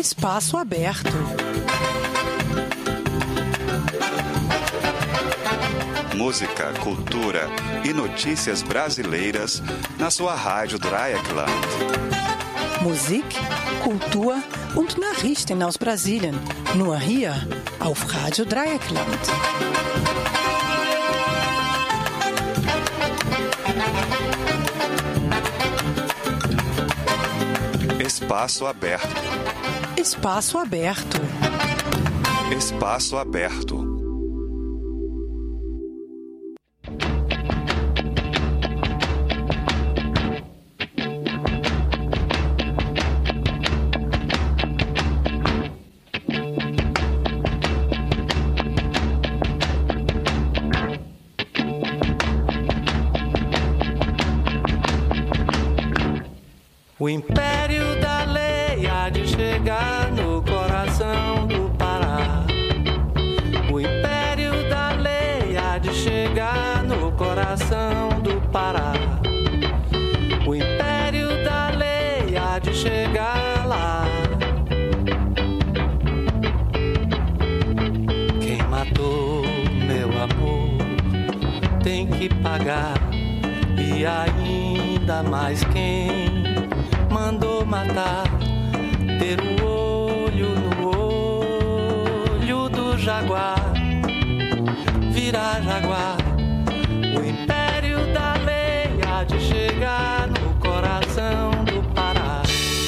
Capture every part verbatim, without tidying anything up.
Espaço Aberto. Música, cultura e notícias brasileiras na sua Rádio Dreieckland. Musik, Kultur und Nachrichten aus Brasilien. Nur hier auf Rádio Dreieckland. Espaço Aberto. Espaço Aberto. Espaço Aberto. O império da lei há de chegar no coração do Pará. O império da lei há de chegar no coração do Pará. O império da lei há de chegar lá. Quem matou meu amor tem que pagar, e ainda mais quem mandou matar, ter o olho no olho do jaguar, virar jaguar. O império da lei há de chegar no coração do Pará.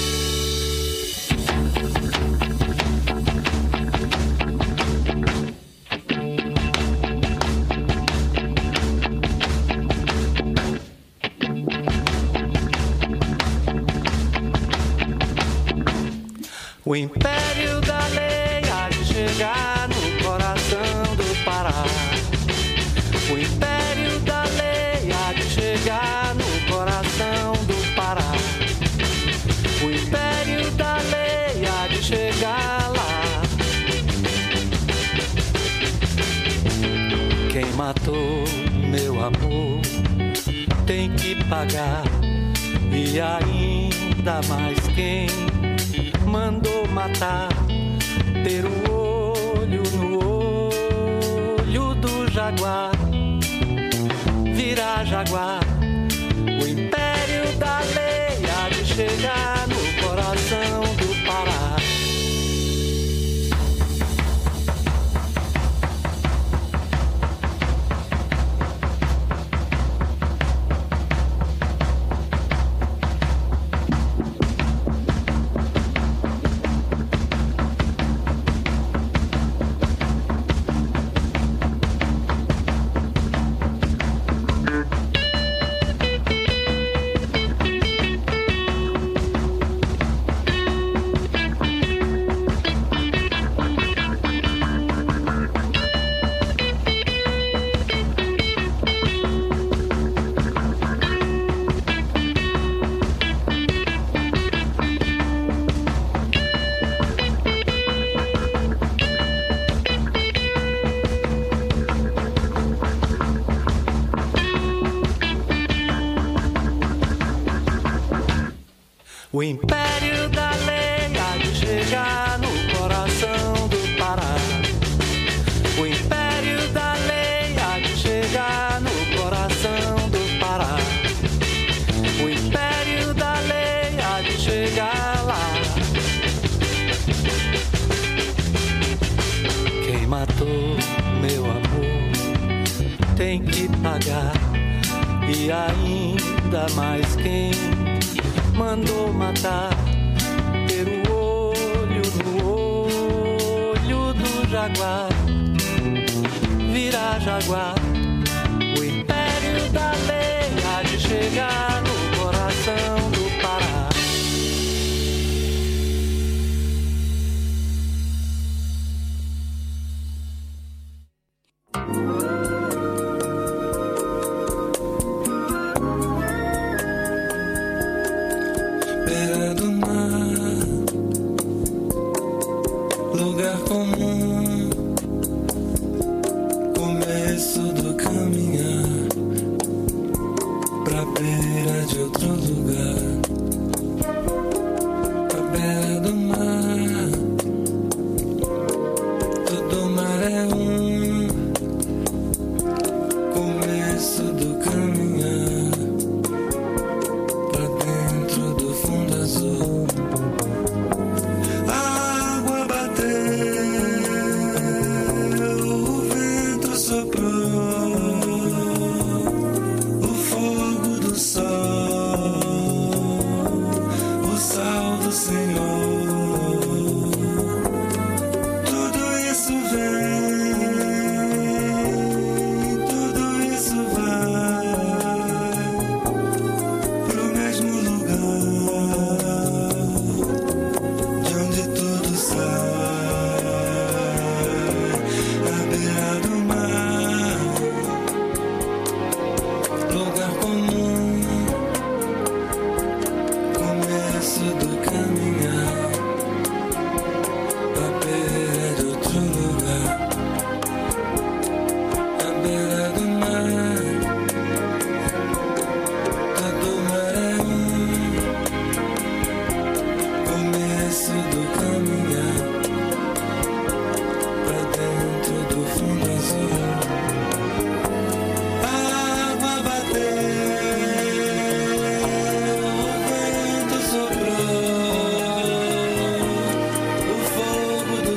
O império da lei há de chegar no coração do Pará. O império da lei há de chegar no coração do Pará. O império da lei há de chegar lá. Quem matou meu amor tem que pagar, e ainda mais quem mandou matar, ter o olho no olho do jaguar, virar jaguar. O império da lei há de chegar no coração do Pará. O império da lei há de chegar no coração do Pará. O império da lei há de chegar no coração do Pará. O império da lei há de chegar lá. Quem matou meu amor tem que pagar, e ainda mais quem mandou matar, ter o olho no olho do jaguar, virar jaguar. O império da lei há de chegar no coração do Pará. Beira do mar, lugar comum, começo do caminhar pra beira de outro lugar. A beira do mar,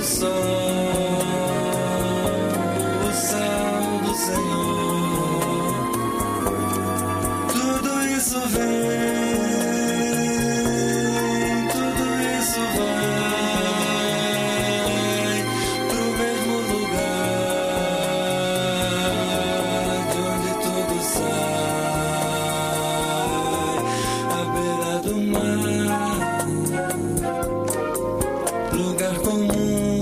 sol, o sal do Senhor. Tudo isso vem, tudo isso vai pro mesmo lugar de onde tudo sai, à beira do mar, lugar comum,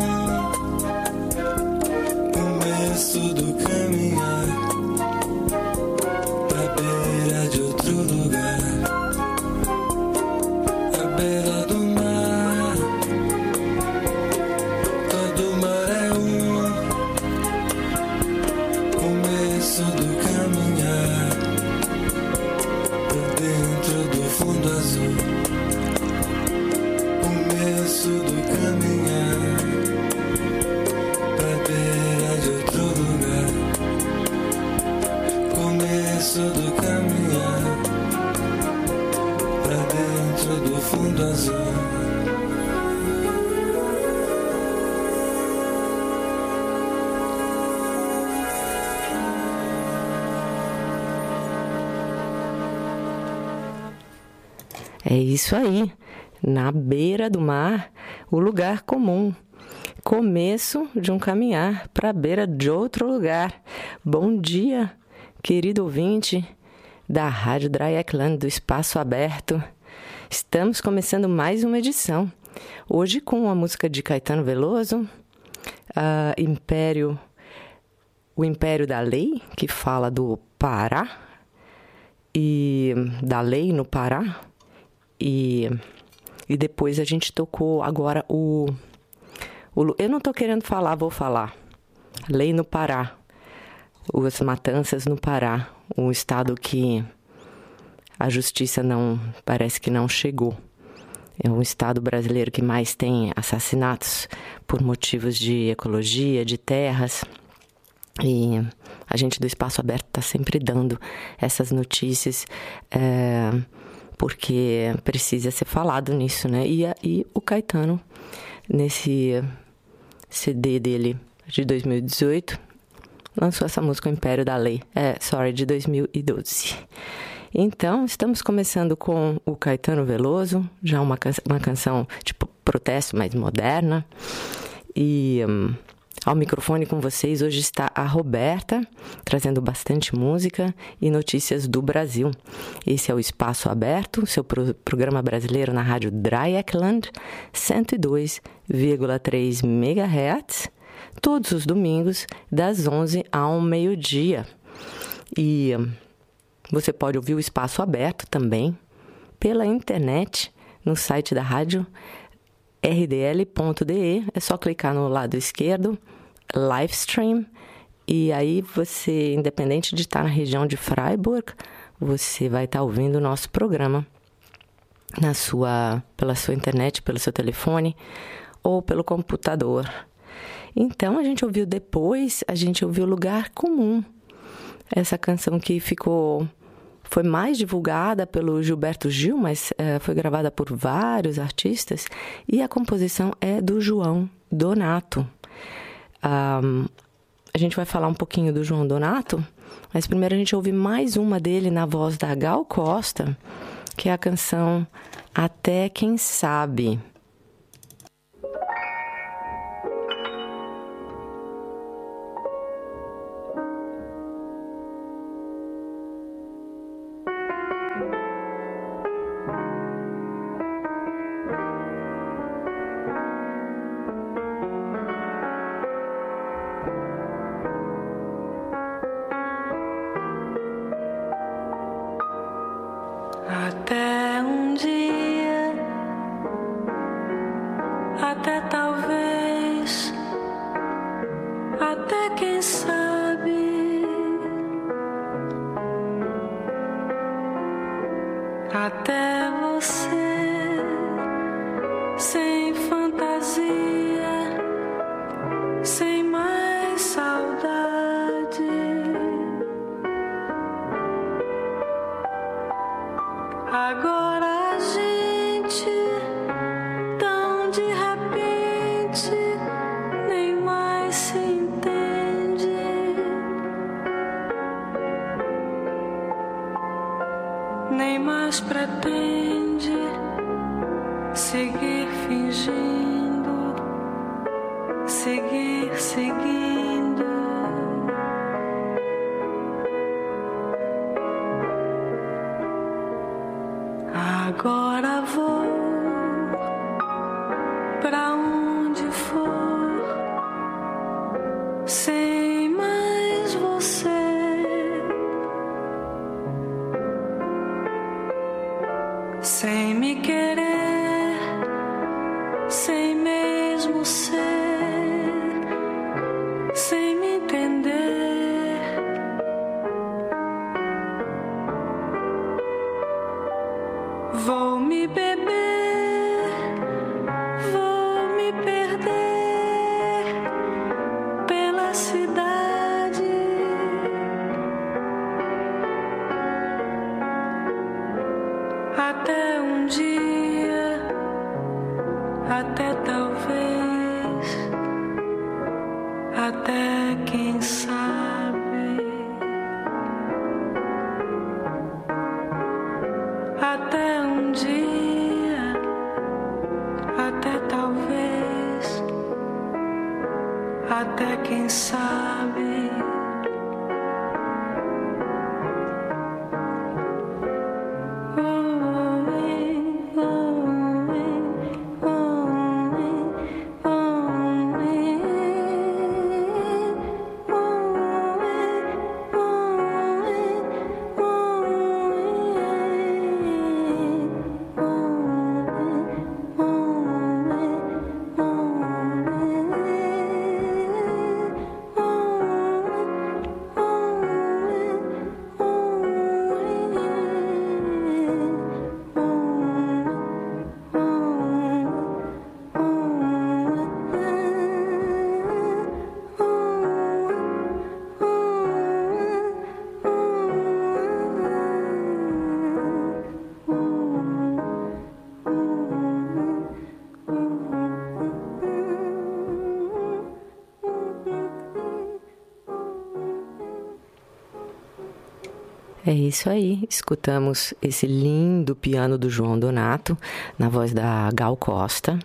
começo do caminhar pra beira de outro lugar, à beira do mar. Todo mar é um começo do caminhar por dentro do fundo azul, começo do caminhar pra beira de outro lugar, começo do caminhar pra dentro do fundo azul. É isso aí, na beira do mar, o lugar comum. Começo de um caminhar para a beira de outro lugar. Bom dia, querido ouvinte da Rádio Dreieckland, do Espaço Aberto. Estamos começando mais uma edição. Hoje com a música de Caetano Veloso, a Império, o Império da Lei, que fala do Pará, e da lei no Pará. E, e depois a gente tocou agora o, o... Eu não estou querendo falar, vou falar. Lei no Pará. As matanças no Pará. Um estado que a justiça não... Parece que não chegou. É um estado brasileiro que mais tem assassinatos por motivos de ecologia, de terras. E a gente do Espaço Aberto está sempre dando essas notícias... É, porque precisa ser falado nisso, né? E, e o Caetano, nesse C D dele de dois mil e dezoito, lançou essa música, O Império da Lei. É, sorry, de dois mil e doze. Então, estamos começando com o Caetano Veloso, já uma, can- uma canção tipo protesto, mais moderna. E um, ao microfone com vocês hoje está a Roberta, trazendo bastante música e notícias do Brasil. Esse é o Espaço Aberto, seu pro- programa brasileiro na rádio Dreieckland, cento e dois vírgula três megahertz, todos os domingos, das onze ao meio-dia. E você pode ouvir o Espaço Aberto também pela internet, no site da rádio r d l ponto d e. É só clicar no lado esquerdo, live stream, e aí você, independente de estar na região de Freiburg, você vai estar ouvindo o nosso programa na sua, pela sua internet, pelo seu telefone ou pelo computador. Então, a gente ouviu depois, a gente ouviu Lugar Comum, essa canção que ficou... Foi mais divulgada pelo Gilberto Gil, mas é, foi gravada por vários artistas. E a composição é do João Donato. Um, a gente vai falar um pouquinho do João Donato, mas primeiro a gente ouve mais uma dele na voz da Gal Costa, que é a canção Até Quem Sabe. Até um dia, até talvez, até quem sabe, até você, sem fantasia, sem mais saudade. Agora a gente, tão de repente, seguir seguindo. Agora vou pra onde for, sem mais você, sem me querer, sem mesmo ser, sem me entender. Vou me beber, vou me perder pela cidade, até um dia, até talvez, até quem sabe, até um dia, até talvez, até quem sabe. É isso aí, escutamos esse lindo piano do João Donato, na voz da Gal Costa.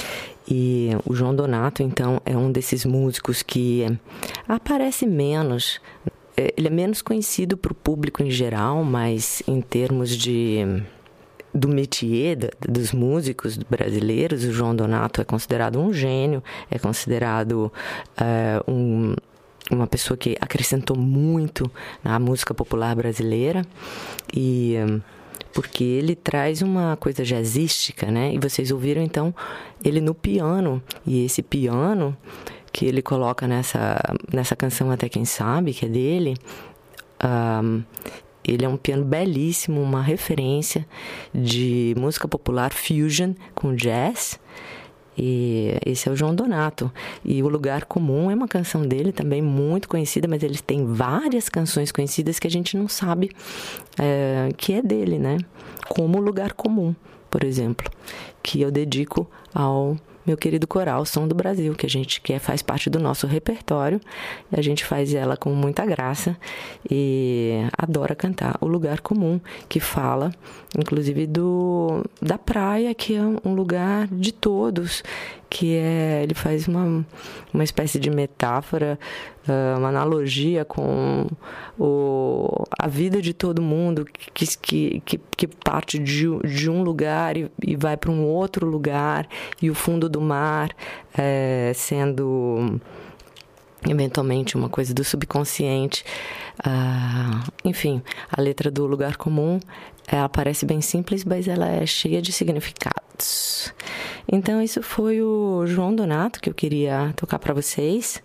E o João Donato, então, é um desses músicos que aparece menos, ele é menos conhecido para o público em geral, mas em termos de... do métier dos músicos brasileiros, o João Donato é considerado um gênio, é considerado uh, um... uma pessoa que acrescentou muito na música popular brasileira, e porque ele traz uma coisa jazzística, né? E vocês ouviram então ele no piano, e esse piano que ele coloca nessa, nessa canção Até Quem Sabe, que é dele, um, ele é um piano belíssimo, uma referência de música popular fusion com jazz. E esse é o João Donato. E O Lugar Comum é uma canção dele também muito conhecida, mas ele tem várias canções conhecidas que a gente não sabe é, que é dele, né? Como O Lugar Comum, por exemplo, que eu dedico ao meu querido coral Som do Brasil, que a gente quer, faz parte do nosso repertório, e a gente faz ela com muita graça e adora cantar O Lugar Comum, que fala inclusive do, da praia, que é um lugar de todos, que é, ele faz uma, uma espécie de metáfora, uma analogia com o, a vida de todo mundo, que, que, que, que parte de, de um lugar e, e vai para um outro lugar, e o fundo do mar é, sendo eventualmente uma coisa do subconsciente. Ah, enfim, a letra do Lugar Comum, ela parece bem simples, mas ela é cheia de significados. Então, isso foi o João Donato que eu queria tocar para vocês.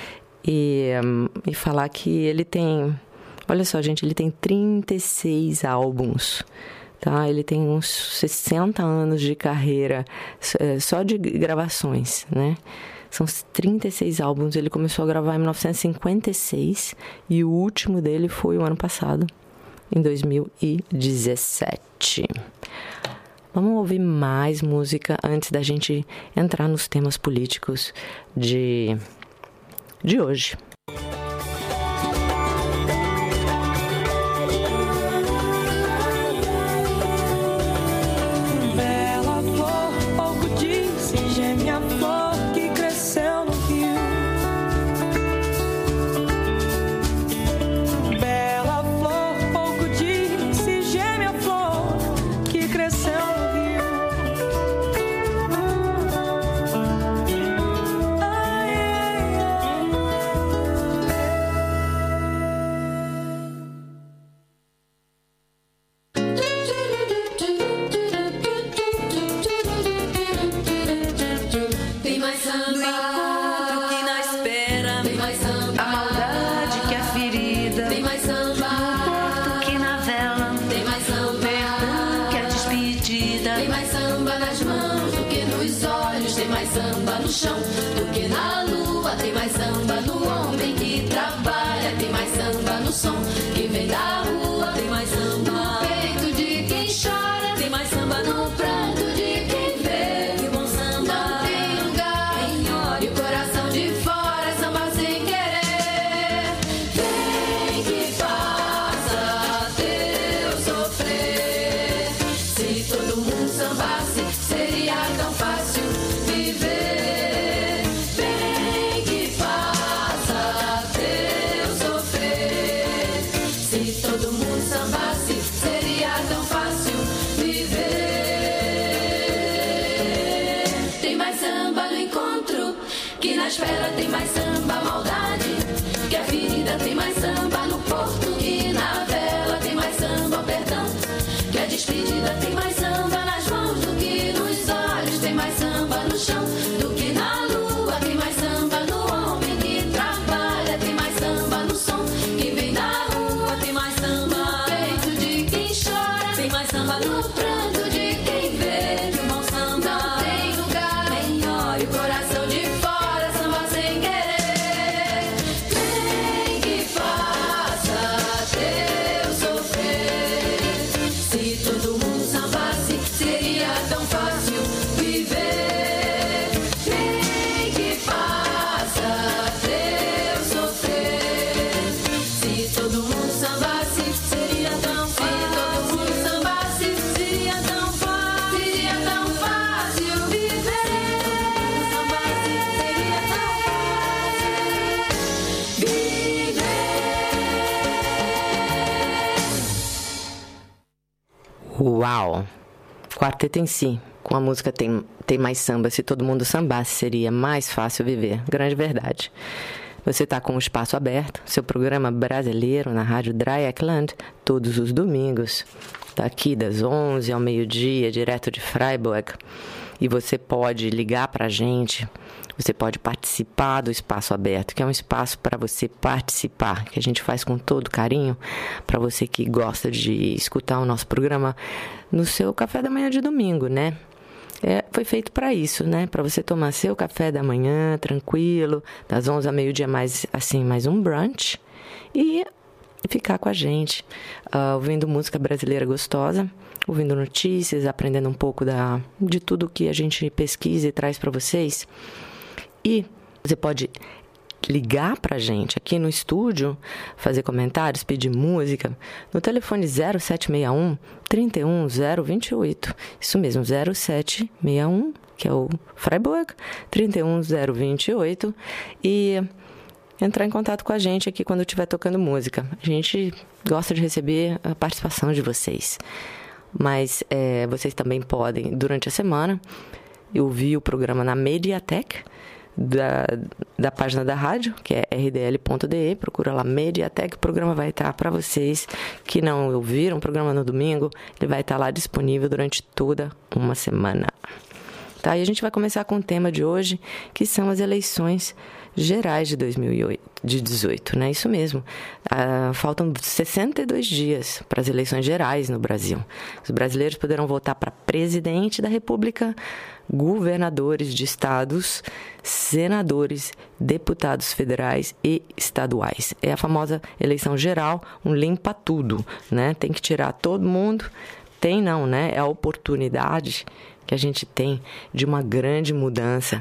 E, um, e falar que ele tem... Olha só, gente, ele tem trinta e seis álbuns, tá? Ele tem uns sessenta anos de carreira só de gravações, né? São trinta e seis álbuns. Ele começou a gravar em mil novecentos e cinquenta e seis e o último dele foi o ano passado, em dois mil e dezessete. Vamos ouvir mais música antes da gente entrar nos temas políticos de, de hoje. Bela flor, pouco disse, gêmea flor que cresceu no rio. No encontro que na espera, tem mais samba. A maldade que é ferida, tem mais samba. No porto que na vela, tem mais samba. Perdão que é despedida, tem mais samba nas mãos do que nos olhos, tem mais samba no chão do que na lua, tem mais samba no homem que trabalha, tem mais samba no som que vem da rua, tem mais samba no peito de quem chora, tem mais samba no pranto de quem vê que o bom samba não tem lugar em hora e o coração de fora, samba sem querer. Vem que passa teu sofrer, se todo mundo sambasse seria tão fácil viver. Vem que passa teu sofrer, se todo mundo sambasse seria tão fácil viver. Tem mais samba no encontro que na espera, tem mais samba a maldade que a ferida, tem mais samba no porto que na vela, tem mais samba o perdão que a despedida, tem mais samba nas mãos do que nos olhos, tem mais samba no chão do que na lua, tem mais samba no homem que trabalha, tem mais samba no som que vem da rua, tem mais samba no peito de quem chora, tem mais samba no pranto de quem vê que o bom samba não tem lugar nem hora e o coração de fora, samba sem querer. Vem que faça teu sofrer, se todo mundo sambasse seria tão fácil viver. Vem que faça teu sofrer, se todo mundo sambasse seria tão fácil, se todo mundo sambasse seria tão fácil, seria tão fácil viver. Se todo mundo sambasse seria tão fácil viver. Uau! Quarteto em Si, com a música Tem, Tem Mais Samba, se todo mundo sambasse, seria mais fácil viver. Grande verdade. Você está com o Espaço Aberto, seu programa brasileiro na Rádio Dreieckland, todos os domingos, daqui das onze ao meio-dia, direto de Freiburg. E você pode ligar para a gente, você pode participar do Espaço Aberto, que é um espaço para você participar, que a gente faz com todo carinho, para você que gosta de escutar o nosso programa no seu café da manhã de domingo, né? É, foi feito para isso, né? Para você tomar seu café da manhã, tranquilo, das onze ao meio-dia, mais, assim, mais um brunch, e ficar com a gente, uh, ouvindo música brasileira gostosa, ouvindo notícias, aprendendo um pouco da, de tudo que a gente pesquisa e traz para vocês. E você pode ligar para a gente aqui no estúdio, fazer comentários, pedir música, no telefone zero sete seis um, três um zero dois oito. Isso mesmo, zero sete seis um, que é o Freiburg, três um zero dois oito. E entrar em contato com a gente aqui quando estiver tocando música. A gente gosta de receber a participação de vocês. Mas é, vocês também podem, durante a semana, ouvir o programa na Mediatek da, da página da rádio, que é r d l ponto d e. Procura lá Mediatek, o programa vai estar para vocês que não ouviram o programa no domingo, ele vai estar lá disponível durante toda uma semana. Tá? E a gente vai começar com o tema de hoje, que são as eleições gerais de dois mil e dezoito, né? Isso mesmo. Ah, faltam sessenta e dois dias para as eleições gerais no Brasil. Os brasileiros poderão votar para presidente da República, governadores de estados, senadores, deputados federais e estaduais. É a famosa eleição geral, um limpa tudo, né? Tem que tirar todo mundo. Tem não, né? É a oportunidade que a gente tem de uma grande mudança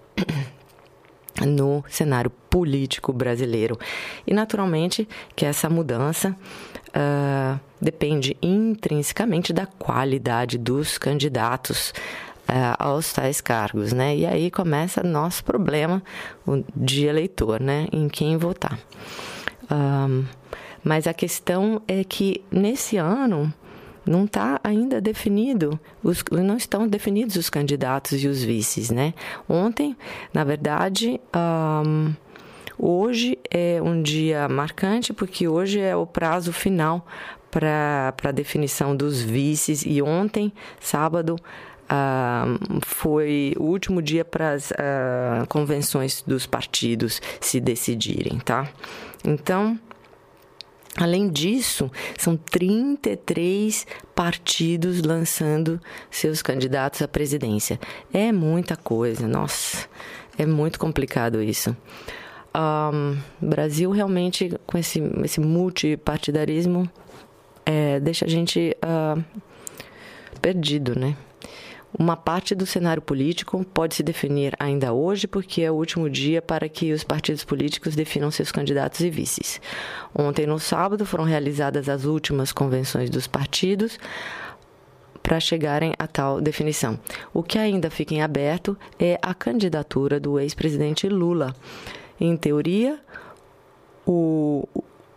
no cenário político brasileiro. E, naturalmente, que essa mudança uh, depende intrinsecamente da qualidade dos candidatos uh, aos tais cargos, né? E aí começa nosso problema de eleitor, né? Em quem votar. Um, mas a questão é que, nesse ano, não está ainda definido, os, não estão definidos os candidatos e os vices, né? Ontem, na verdade, um, hoje é um dia marcante, porque hoje é o prazo final para a definição dos vices, e ontem, sábado, uh, foi o último dia para as uh, convenções dos partidos se decidirem, tá? Então, além disso, são trinta e três partidos lançando seus candidatos à presidência. É muita coisa, nossa, é muito complicado isso. O um, Brasil realmente, com esse, esse multipartidarismo, é, deixa a gente uh, perdido, né? Uma parte do cenário político pode se definir ainda hoje, porque é o último dia para que os partidos políticos definam seus candidatos e vices. Ontem, no sábado, foram realizadas as últimas convenções dos partidos para chegarem a tal definição. O que ainda fica em aberto é a candidatura do ex-presidente Lula. Em teoria, o,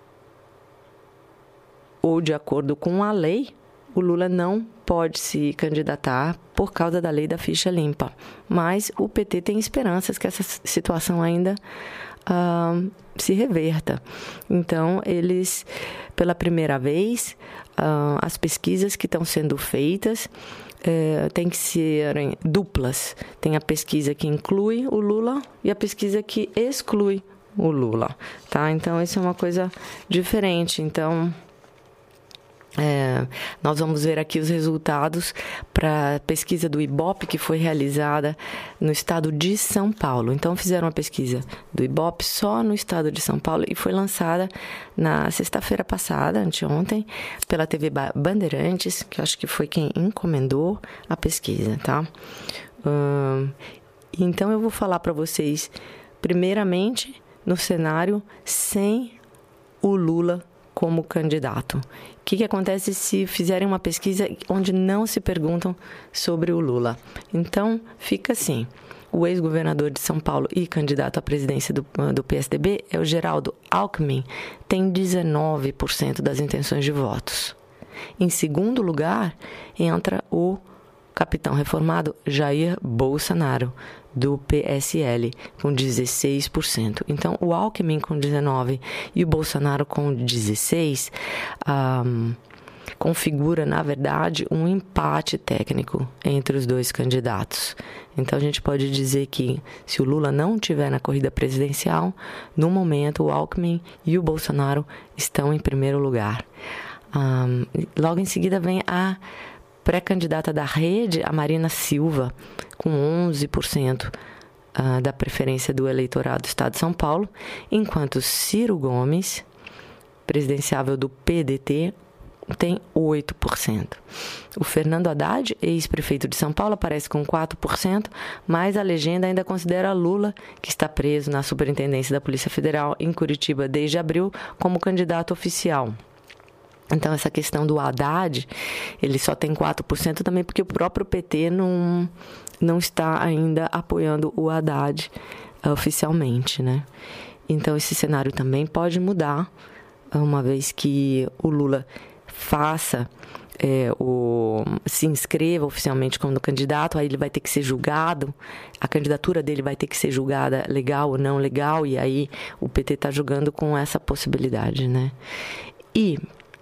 ou de acordo com a lei, o Lula não pode se candidatar por causa da lei da ficha limpa. Mas o P T tem esperanças que essa situação ainda uh, se reverta. Então, eles, pela primeira vez, uh, as pesquisas que estão sendo feitas É, tem que serem duplas. Tem a pesquisa que inclui o Lula e a pesquisa que exclui o Lula, tá? Então, isso é uma coisa diferente. Então, é, nós vamos ver aqui os resultados para a pesquisa do Ibope, que foi realizada no estado de São Paulo. Então, fizeram uma pesquisa do Ibope só no estado de São Paulo e foi lançada na sexta-feira passada, anteontem, pela T V Bandeirantes, que eu acho que foi quem encomendou a pesquisa, tá? Hum, então, eu vou falar para vocês, primeiramente, no cenário sem o Lula como candidato. O que, que acontece se fizerem uma pesquisa onde não se perguntam sobre o Lula? Então, fica assim. O ex-governador de São Paulo e candidato à presidência do, do P S D B é o Geraldo Alckmin, tem dezenove por cento das intenções de votos. Em segundo lugar, entra o capitão reformado Jair Bolsonaro, do P S L, com dezesseis por cento. Então, o Alckmin com dezenove por cento e o Bolsonaro com dezesseis por cento um, configura, na verdade, um empate técnico entre os dois candidatos. Então, a gente pode dizer que, se o Lula não estiver na corrida presidencial, no momento, o Alckmin e o Bolsonaro estão em primeiro lugar. Um, logo em seguida, vem a pré-candidata da Rede, a Marina Silva, com onze por cento uh, da preferência do eleitorado do estado de São Paulo, enquanto Ciro Gomes, presidenciável do P D T, tem oito por cento. O Fernando Haddad, ex-prefeito de São Paulo, aparece com quatro por cento, mas a legenda ainda considera Lula, que está preso na Superintendência da Polícia Federal em Curitiba desde abril, como candidato oficial. Então, essa questão do Haddad, ele só tem quatro por cento também porque o próprio P T não, não está ainda apoiando o Haddad uh, oficialmente, né? Então, esse cenário também pode mudar, uma vez que o Lula faça, é, o, se inscreva oficialmente como candidato, aí ele vai ter que ser julgado, a candidatura dele vai ter que ser julgada legal ou não legal, e aí o P T está julgando com essa possibilidade, né? E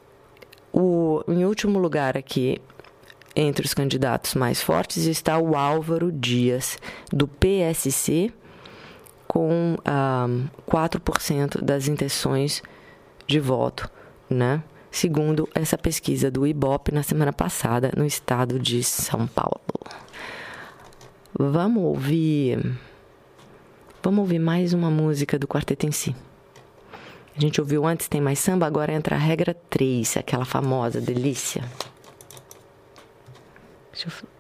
O, em último lugar aqui, entre os candidatos mais fortes, está o Álvaro Dias, do P S C, com um, quatro por cento das intenções de voto, né? Segundo essa pesquisa do Ibope na semana passada, no estado de São Paulo. Vamos ouvir, vamos ouvir mais uma música do Quarteto em Si. A gente ouviu antes, Tem Mais Samba, agora entra a regra três, aquela famosa delícia. Deixa eu...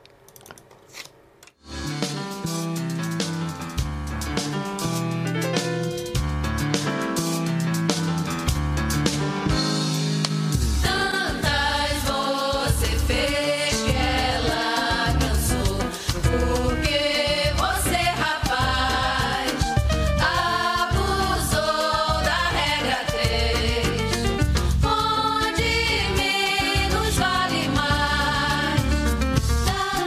Onde menos vale mais.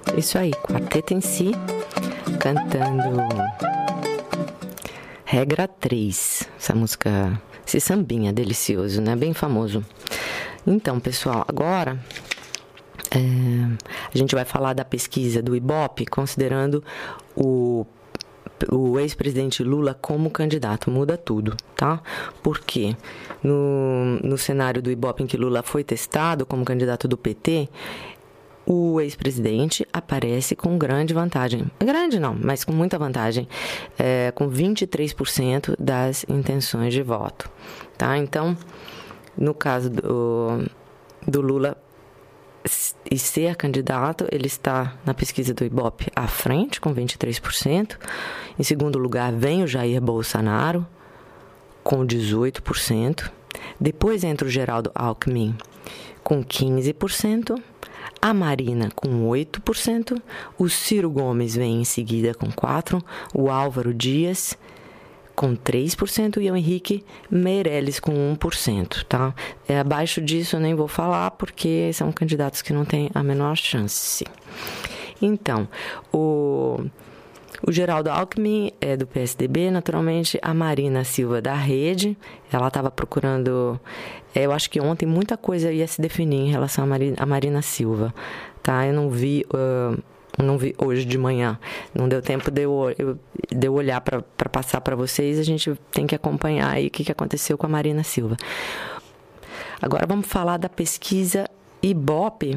Isso aí, Quarteto em Si, cantando Regra três. Essa música, esse sambinha delicioso, né? Bem famoso. Então, pessoal, agora é, a gente vai falar da pesquisa do Ibope, considerando o, o ex-presidente Lula como candidato. Muda tudo, tá? Porque no, no cenário do Ibope em que Lula foi testado como candidato do P T, o ex-presidente aparece com grande vantagem. Grande não, mas com muita vantagem. É, com vinte e três por cento das intenções de voto. Tá? Então, no caso do, do Lula e ser candidato, ele está na pesquisa do Ibope à frente, com vinte e três por cento. Em segundo lugar, vem o Jair Bolsonaro, com dezoito por cento. Depois entra o Geraldo Alckmin, com quinze por cento. A Marina com oito por cento, o Ciro Gomes vem em seguida com quatro por cento, o Álvaro Dias com três por cento e o Henrique Meirelles com um por cento, tá? É, abaixo disso eu nem vou falar porque são candidatos que não têm a menor chance. Então, o... O Geraldo Alckmin é do P S D B, naturalmente. A Marina Silva da Rede, ela estava procurando... Eu acho que ontem muita coisa ia se definir em relação a Marina, a Marina Silva, tá? Eu não vi, uh, não vi hoje de manhã, não deu tempo de eu, eu, de eu olhar para passar para vocês. A gente tem que acompanhar aí o que, que aconteceu com a Marina Silva. Agora vamos falar da pesquisa Ibope,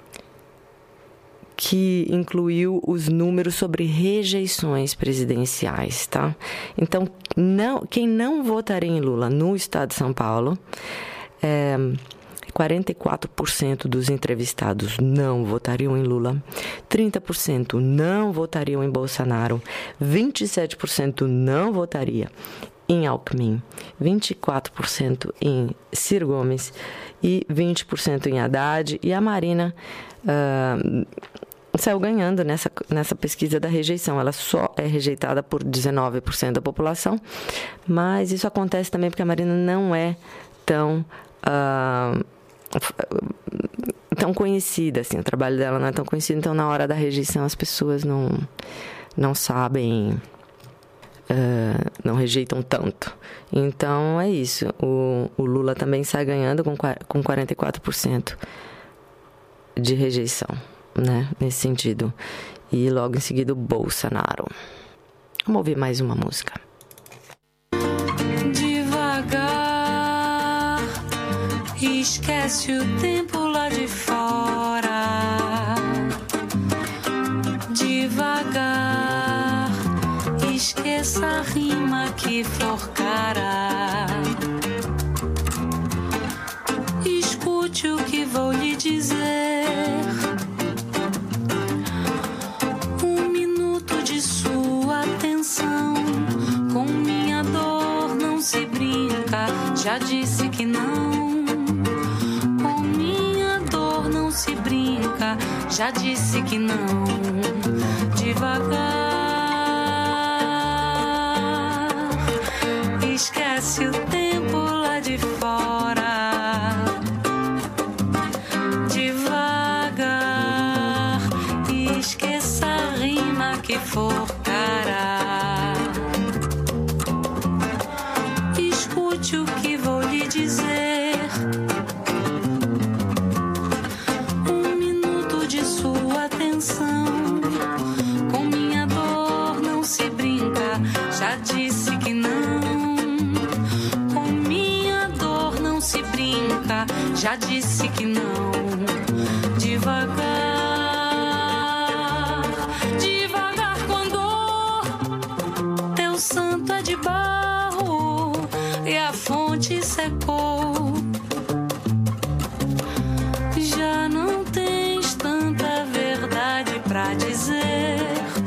que incluiu os números sobre rejeições presidenciais, tá? Então, não, quem não votaria em Lula no estado de São Paulo, é, quarenta e quatro por cento dos entrevistados não votariam em Lula, trinta por cento não votariam em Bolsonaro, vinte e sete por cento não votaria em Alckmin, vinte e quatro por cento em Ciro Gomes e vinte por cento em Haddad. E a Marina uh, saiu ganhando nessa, nessa pesquisa da rejeição. Ela só é rejeitada por dezenove por cento da população, mas isso acontece também porque a Marina não é tão... Uh, tão conhecida, assim, o trabalho dela não é tão conhecido, então na hora da rejeição as pessoas não, não sabem, uh, não rejeitam tanto. Então é isso, o, o Lula também sai ganhando com, com quarenta e quatro por cento de rejeição, né, nesse sentido, e logo em seguida o Bolsonaro. Vamos ouvir mais uma música. Esquece o tempo lá de fora. Devagar, esqueça a rima que for cara. Escute o que vou lhe dizer. Um minuto de sua atenção. Com minha dor não se brinca. Já disse que não. Se brinca, já disse que não. Devagar, esquece o tempo lá de fora. Devagar, esqueça a rima que for cara. Escute o que vou lhe dizer. Com minha dor não se brinca, já disse que não. Com minha dor não se brinca, já disse que não. Devagar, devagar com dor. Teu santo é de barro e a fonte secou. Já não tens tanta verdade pra dizer,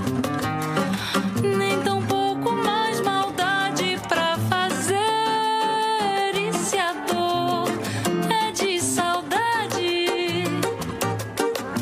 nem tão pouco mais maldade pra fazer. E se a dor é de saudade,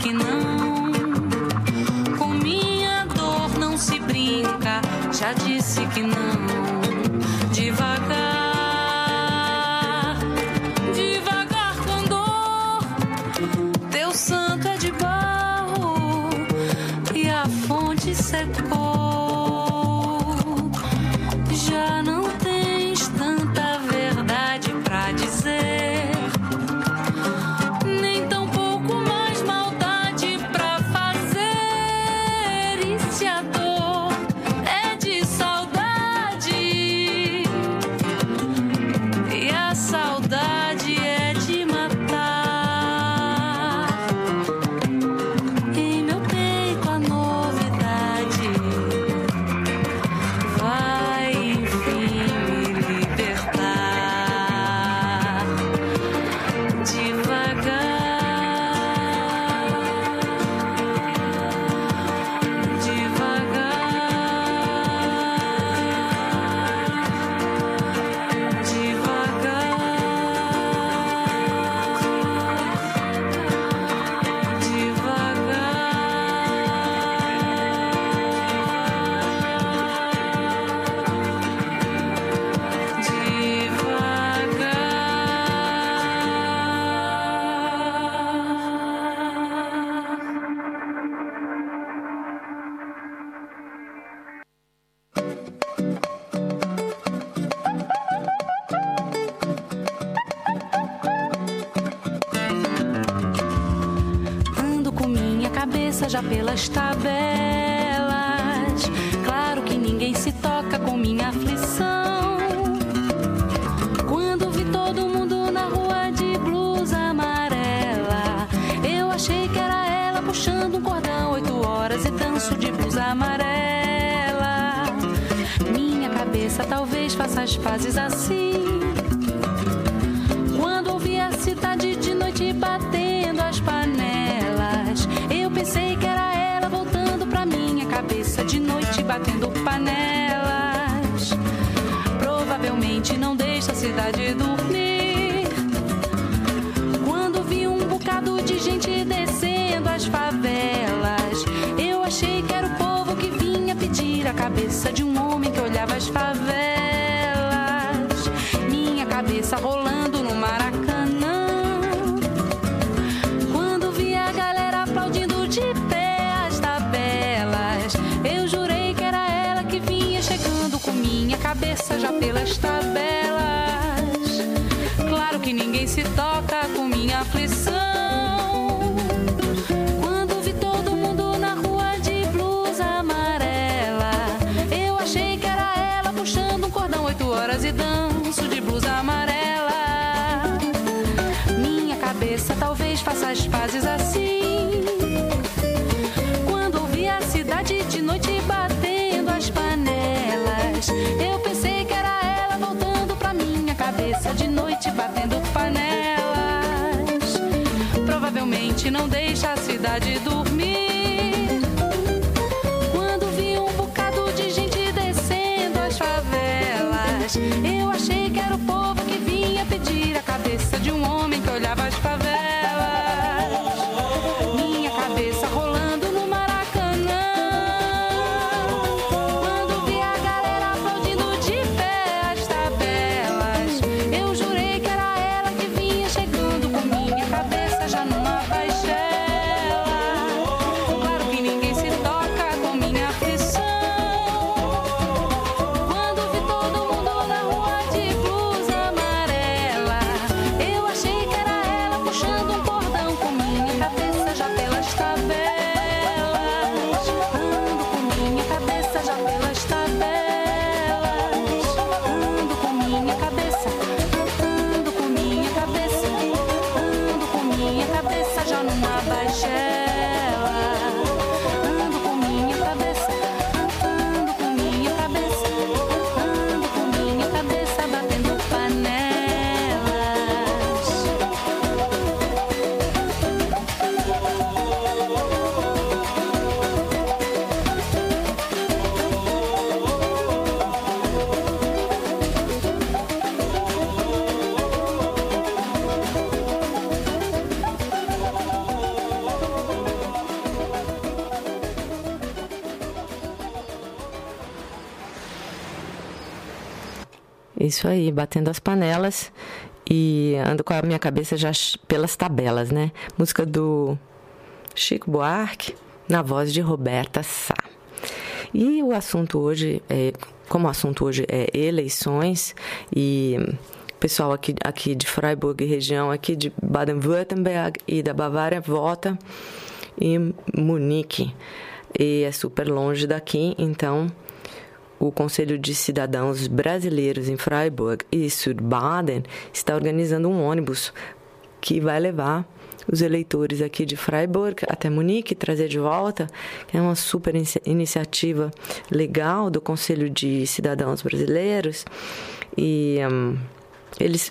que não. Com minha dor não se brinca, já disse que não. Devagar, devagar com dor. Teu santo é de barro e a fonte secou. Já não tens tanta verdade pra dizer, nem tão pouco mais maldade pra fazer. E se a dor é de saudade, e a saudade é de matar, em meu peito a novidade vai enfim me libertar. Devagar, devagar, ando com minha cabeça já pelas tabelas. Claro que ninguém se toca com minha aflição. Quando vi todo mundo na rua de blusa amarela, eu achei que era ela puxando um cordão, oito horas e danço de blusa amarela. Minha cabeça talvez faça as pazes assim. Quando ouvi a cidade de noite batendo as panelas, eu pensei que era ela voltando pra minha cabeça de noite batendo panelas. Provavelmente não deixa a cidade dormir. Quando vi um bocado de gente descendo as favelas, eu achei que era o povo que vinha pedir a cabeça de um homem que olhava as favelas. Minha cabeça rolando no Maracanã. Quando vi a galera aplaudindo de pé as tabelas, eu jurei que era ela que vinha chegando com minha cabeça já pelas tabelas. Claro que ninguém se toca com minha aflição. Quando vi todo mundo na rua de blusa amarela, eu achei que era ela puxando um cordão, oito horas e danço de blusa amarela. Minha cabeça talvez faça as pazes assim. Quando ouvi a cidade de noite batendo as panelas, eu pensei que era ela voltando pra minha cabeça de noite batendo panelas. Provavelmente não deixa a cidade dormir. Quando vi um bocado de gente descendo as favelas, eu achei que era o povo que vinha pedir a cabeça de um homem que olhava as favelas. Minha cabeça rolando no Maracanã. Quando vi a galera aplaudindo de pé as tabelas, eu jurei que era ela que vinha chegando com minha cabeça já numa baixela. Claro que ninguém se toca com minha aflição. Quando vi todo mundo na rua Isso aí, batendo as panelas e ando com a minha cabeça já pelas tabelas, né? Música do Chico Buarque, na voz de Roberta Sá. E o assunto hoje, é, como o assunto hoje é eleições, e o pessoal aqui, aqui de Freiburg e região, aqui de Baden-Württemberg e da Bavária vota em Munique. E é super longe daqui, então o Conselho de Cidadãos Brasileiros em Freiburg e Südbaden está organizando um ônibus que vai levar os eleitores aqui de Freiburg até Munique, trazer de volta, que é uma super iniciativa legal do Conselho de Cidadãos Brasileiros. E um, eles,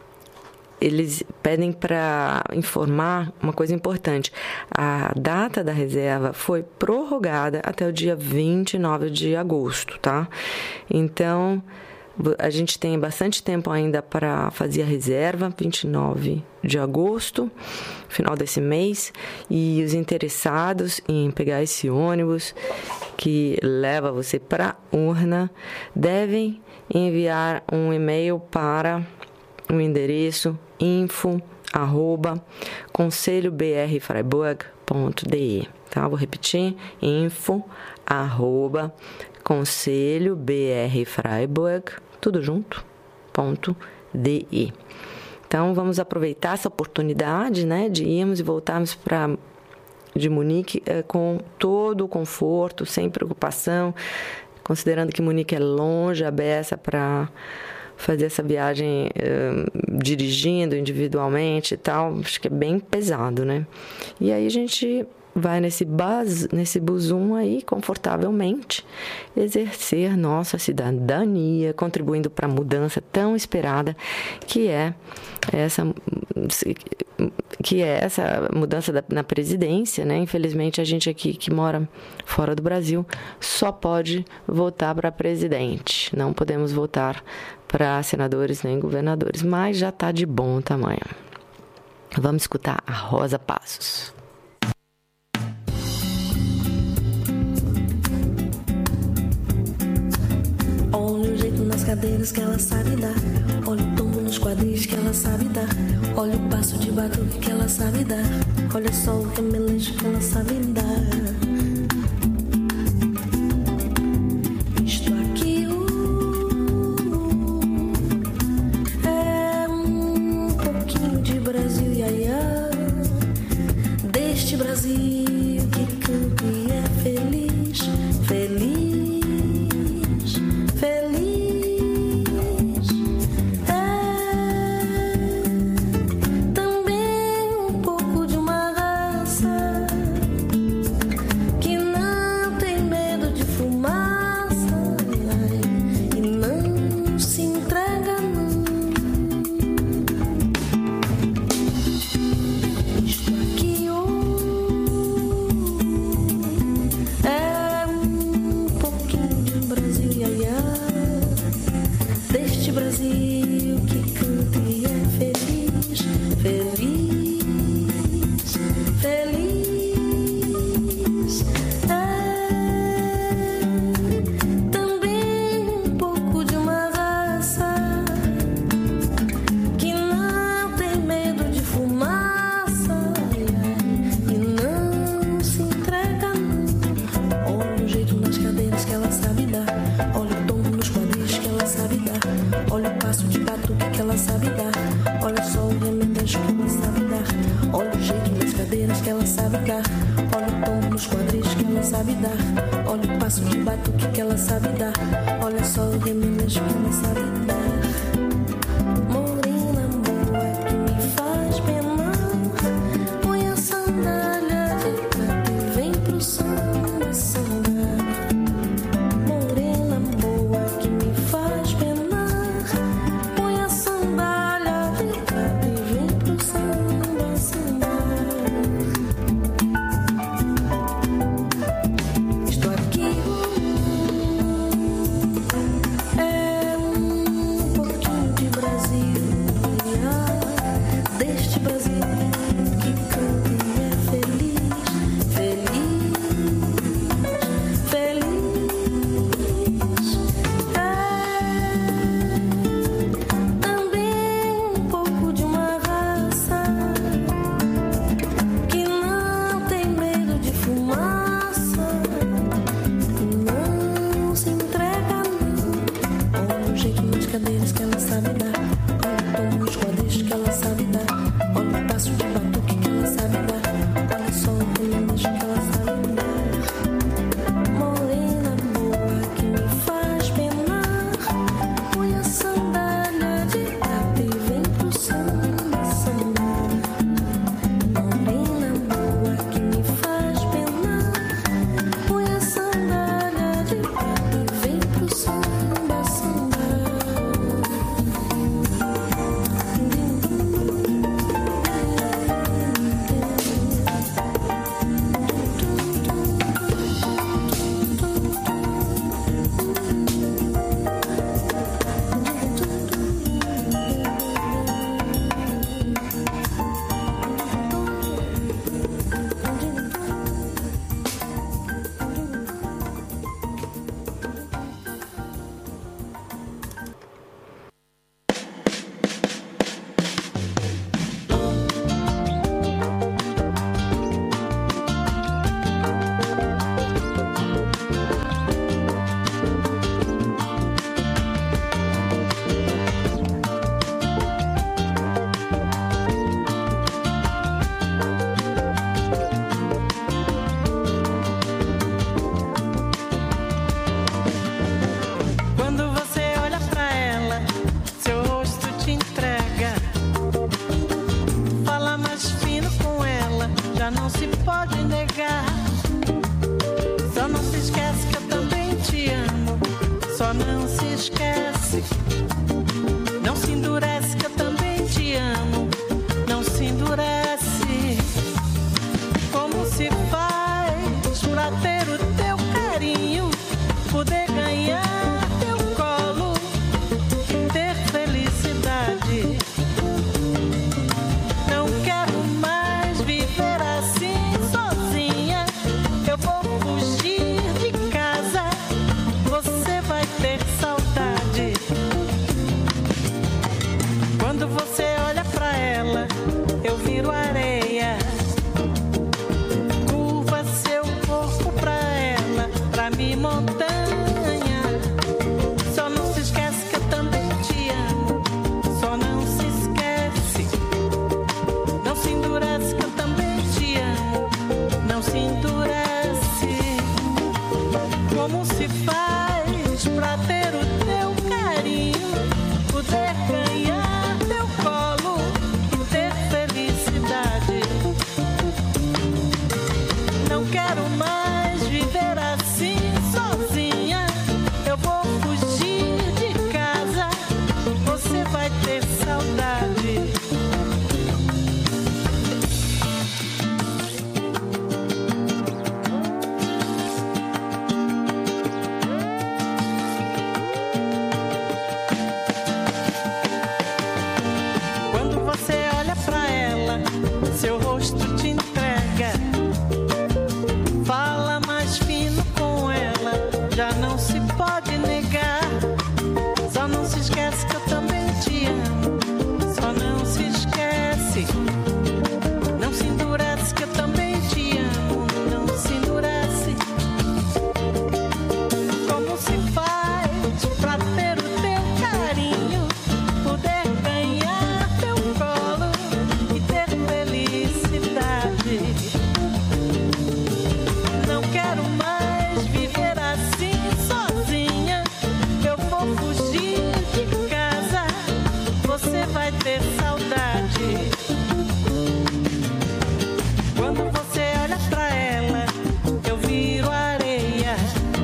eles pedem para informar uma coisa importante. A data da reserva foi prorrogada até o dia vinte e nove de agosto, tá? Então, a gente tem bastante tempo ainda para fazer a reserva, vinte e nove de agosto, final desse mês, e os interessados em pegar esse ônibus que leva você para a urna devem enviar um e-mail para o endereço info arroba conselho b r freiburg ponto d e, tá? Vou repetir, info arroba conselho b r freiburg, tudo junto, ponto d e. Então, vamos aproveitar essa oportunidade, né, de irmos e voltarmos para de Munique é, com todo o conforto, sem preocupação, considerando que Munique é longe, a beça para fazer essa viagem é, dirigindo individualmente e tal, acho que é bem pesado, né? E aí a gente vai nesse, bus, nesse busum aí, confortavelmente, exercer nossa cidadania, contribuindo para a mudança tão esperada que é essa, que é essa mudança da, na presidência, né? Infelizmente, a gente aqui que mora fora do Brasil só pode votar para presidente. Não podemos votar para senadores nem governadores, mas já está de bom tamanho. Vamos escutar a Rosa Passos. Olha o jeito nas cadeiras que ela sabe dar. Olha o tombo nos quadris que ela sabe dar. Olha o passo de batuque que ela sabe dar. Olha só o remeleixo que ela sabe dar. Isto aqui uh, é um pouquinho de Brasil, iaiá. Deste Brasil que canta e é feliz, feliz. Estou aqui. sabe dar. Olha o tom nos quadris que ela sabe dar. Olha o passo de batuque que ela sabe dar. Olha só o remédio que ela sabe dar. Morena boa que me faz penar. Põe a sandália de prata e vem pro samba, samba. Morena boa que me faz penar. Põe a sandália de prata e vem pro samba, samba. Quando você olha pra ela, seu rosto te entrega. Fala mais fino com ela, já não se pode negar. Só não se esquece que eu também te amo. Só não se esquece. Não se endurece que eu também te amo. Não se endurece. Como se faz pra ter o teu carinho, poder ganhar teu colo e ter felicidade? Não quero mais viver assim sozinha. Eu vou fugir de casa. Você vai ter saudade. Quando você olha pra ela, eu viro areia. Curva seu corpo pra ela, pra mim montanha. Só não se esquece que eu também te amo. Só não se esquece. Não se endurece que eu também te amo. Não se endurece. Como se faz pra ter o teu carinho, poder ganhar teu colo e ter felicidade? Não quero mais viver assim sozinha. Eu vou fugir de casa. Você vai ter saudade. Quando você olha pra ela, seu rosto te entrega. Fala mais fino com ela, já não se pode negar. Só não se esquece que eu também te amo. Só não se esquece. Não se endurece que eu também te amo. Não se endurece. Como se faz pra ter o teu carinho, poder ganhar teu colo e ter felicidade? Não quero mais viver assim sozinha. Eu vou fugir de casa. Você vai ter saudade. Quando você olha pra ela, eu viro areia.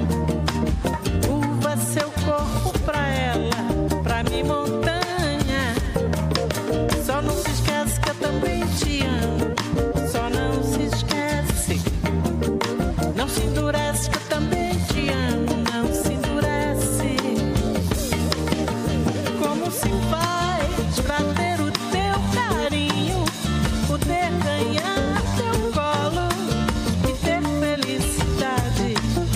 Curva seu corpo pra ela, pra mim montanha. Só não se esquece que eu também te amo. Só não se esquece. Não se endurece que eu também te amo. Não se endurece. Como se faz pra ter o teu carinho, poder ganhar teu colo e ter felicidade?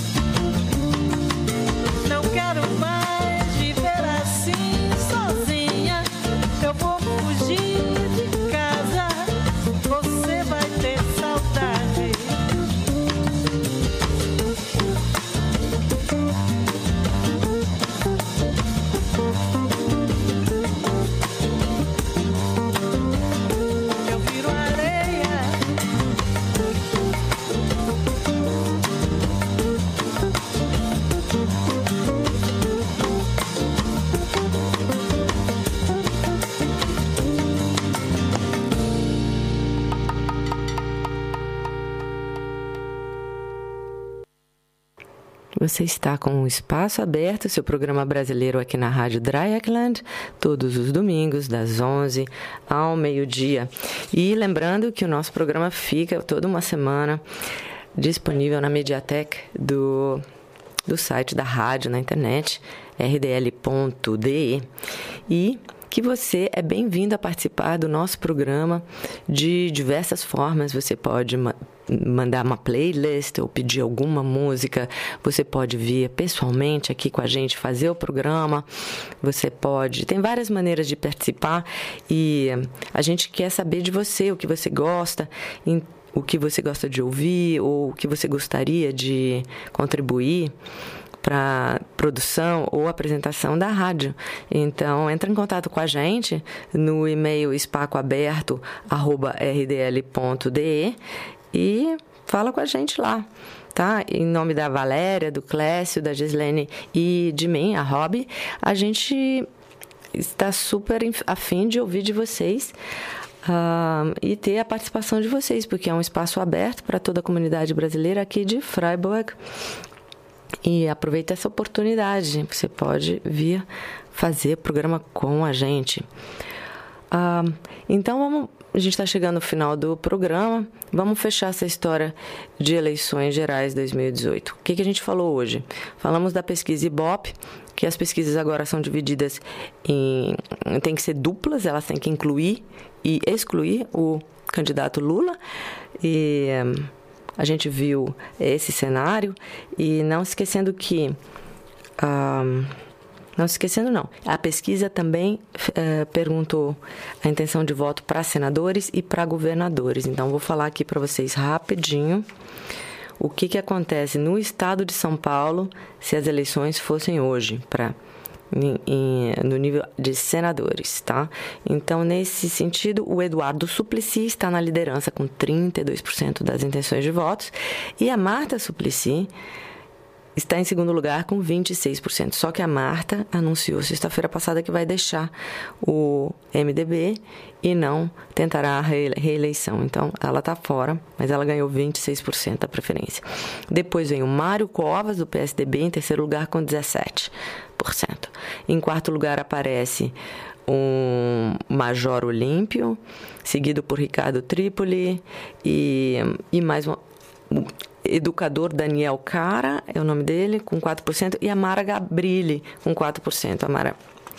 Não quero mais viver assim sozinha. Eu vou fugir de casa. Você vai ter saudade. Você está com o Espaço Aberto, seu programa brasileiro aqui na Rádio Dreieckland, todos os domingos, das onze ao meio-dia. E lembrando que o nosso programa fica toda uma semana disponível na Mediatek do, do site da rádio na internet, r d l ponto d e. E que você é bem-vindo a participar do nosso programa de diversas formas. Você pode ma- mandar uma playlist ou pedir alguma música. Você pode vir pessoalmente aqui com a gente fazer o programa. Você pode... Tem várias maneiras de participar e a gente quer saber de você, o que você gosta, o que você gosta de ouvir ou o que você gostaria de contribuir para produção ou apresentação da rádio. Então, entra em contato com a gente no e-mail espacoaberto arroba r d l ponto d e e fala com a gente lá, tá? Em nome da Valéria, do Clécio, da Gislene e de mim, a Rob, a gente está super afim de ouvir de vocês uh, e ter a participação de vocês, porque é um espaço aberto para toda a comunidade brasileira aqui de Freiburg. E aproveita essa oportunidade, você pode vir fazer programa com a gente. Ah, então, vamos, a gente está chegando no final do programa, vamos fechar essa história de eleições gerais dois mil e dezoito. O que, que a gente falou hoje? Falamos da pesquisa Ibope, que as pesquisas agora são divididas em... tem que ser duplas, elas têm que incluir e excluir o candidato Lula. E... a gente viu esse cenário e não esquecendo que... Um, não esquecendo, não. A pesquisa também uh, perguntou a intenção de voto para senadores e para governadores. Então, vou falar aqui para vocês rapidinho o que, que acontece no estado de São Paulo se as eleições fossem hoje, para... Em, em, no nível de senadores, tá? Então, nesse sentido, o Eduardo Suplicy está na liderança com trinta e dois por cento das intenções de votos e a Marta Suplicy está em segundo lugar com vinte e seis por cento. Só que a Marta anunciou sexta-feira passada que vai deixar o M D B e não tentará a reeleição. Então, ela está fora, mas ela ganhou vinte e seis por cento da preferência. Depois vem o Mário Covas, do P S D B, em terceiro lugar com dezessete por cento. Em quarto lugar aparece um Major Olímpio, seguido por Ricardo Trípoli e, e mais um... Educador Daniel Cara, é o nome dele, com quatro por cento, e a Mara Gabrilli, com quatro por cento. A Mara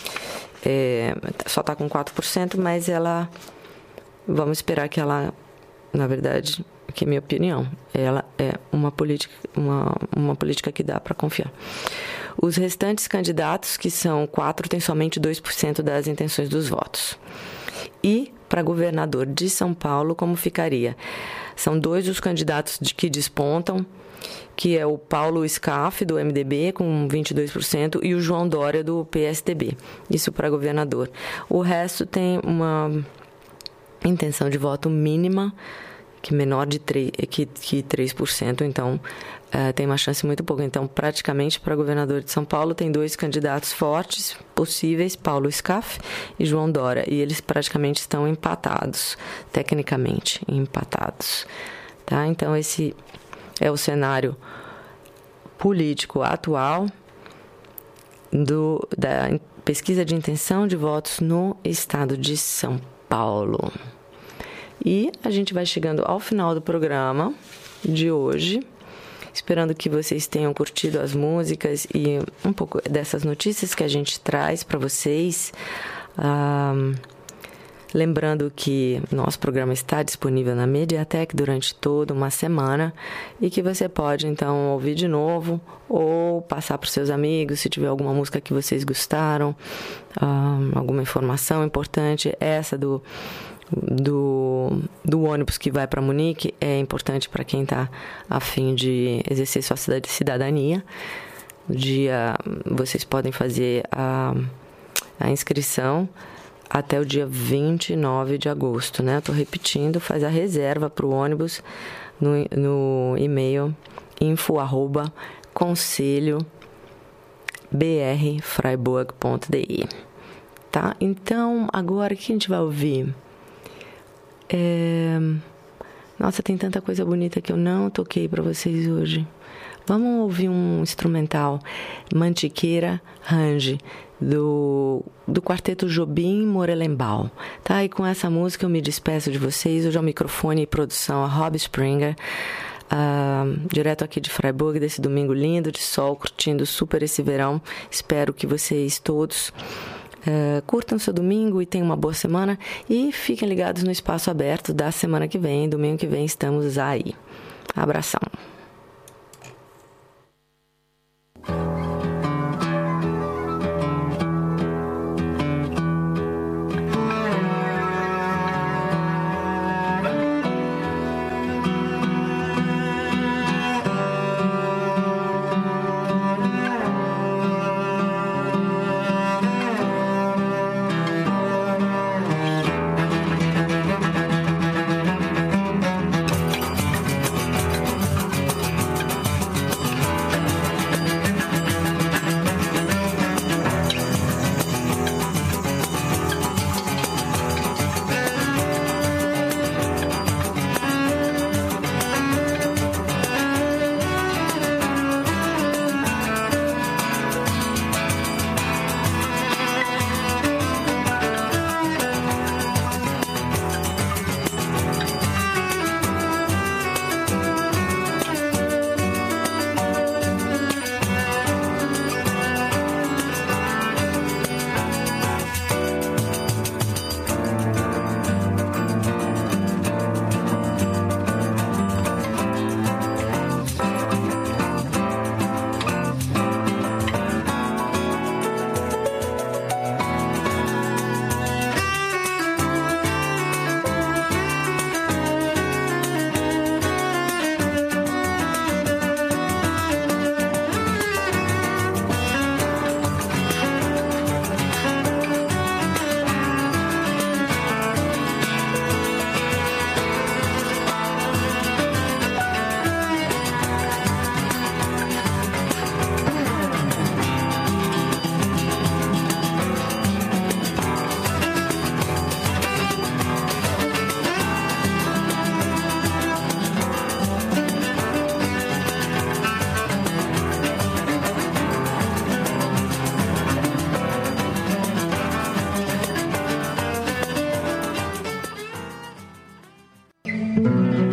é, só está com quatro por cento, mas ela... Vamos esperar que ela, na verdade, que é minha opinião, ela é uma política, uma, uma política que dá para confiar. Os restantes candidatos, que são quatro, têm somente dois por cento das intenções dos votos. E para governador de São Paulo, como ficaria? São dois os candidatos de que despontam, que é o Paulo Scaff, do M D B, com vinte e dois por cento, e o João Dória, do P S D B. Isso para governador. O resto tem uma intenção de voto mínima, que menor de três, que, que três por cento, então uh, tem uma chance muito pouca. Então, praticamente, para governador de São Paulo, tem dois candidatos fortes possíveis, Paulo Scaff e João Dória, e eles praticamente estão empatados, tecnicamente empatados. Tá? Então, esse é o cenário político atual do, da pesquisa de intenção de votos no estado de São Paulo. E a gente vai chegando ao final do programa de hoje, esperando que vocês tenham curtido as músicas e um pouco dessas notícias que a gente traz para vocês. Ah, lembrando que nosso programa está disponível na Mediatek durante toda uma semana e que você pode, então, ouvir de novo ou passar para os seus amigos se tiver alguma música que vocês gostaram, ah, alguma informação importante. Essa do... Do, do ônibus que vai para Munique é importante para quem está a fim de exercer sua cidadania. Dia, vocês podem fazer a, a inscrição até o dia vinte e nove de agosto, né? Eu estou repetindo, faz a reserva para o ônibus no, no e-mail info arroba conselho br freiburg ponto d e. Tá? Então, agora o que a gente vai ouvir? É... Nossa, tem tanta coisa bonita que eu não toquei para vocês hoje. Vamos ouvir um instrumental, Mantiqueira Range, do, do quarteto Jobim Morelenbaum. Tá? E com essa música eu me despeço de vocês. Hoje ao microfone e produção a Rob Springer, uh, direto aqui de Freiburg, desse domingo lindo de sol, curtindo super esse verão. Espero que vocês todos Uh, curtam seu domingo e tenham uma boa semana e fiquem ligados no Espaço Aberto da semana que vem. Domingo que vem estamos aí. Abração. Thank you.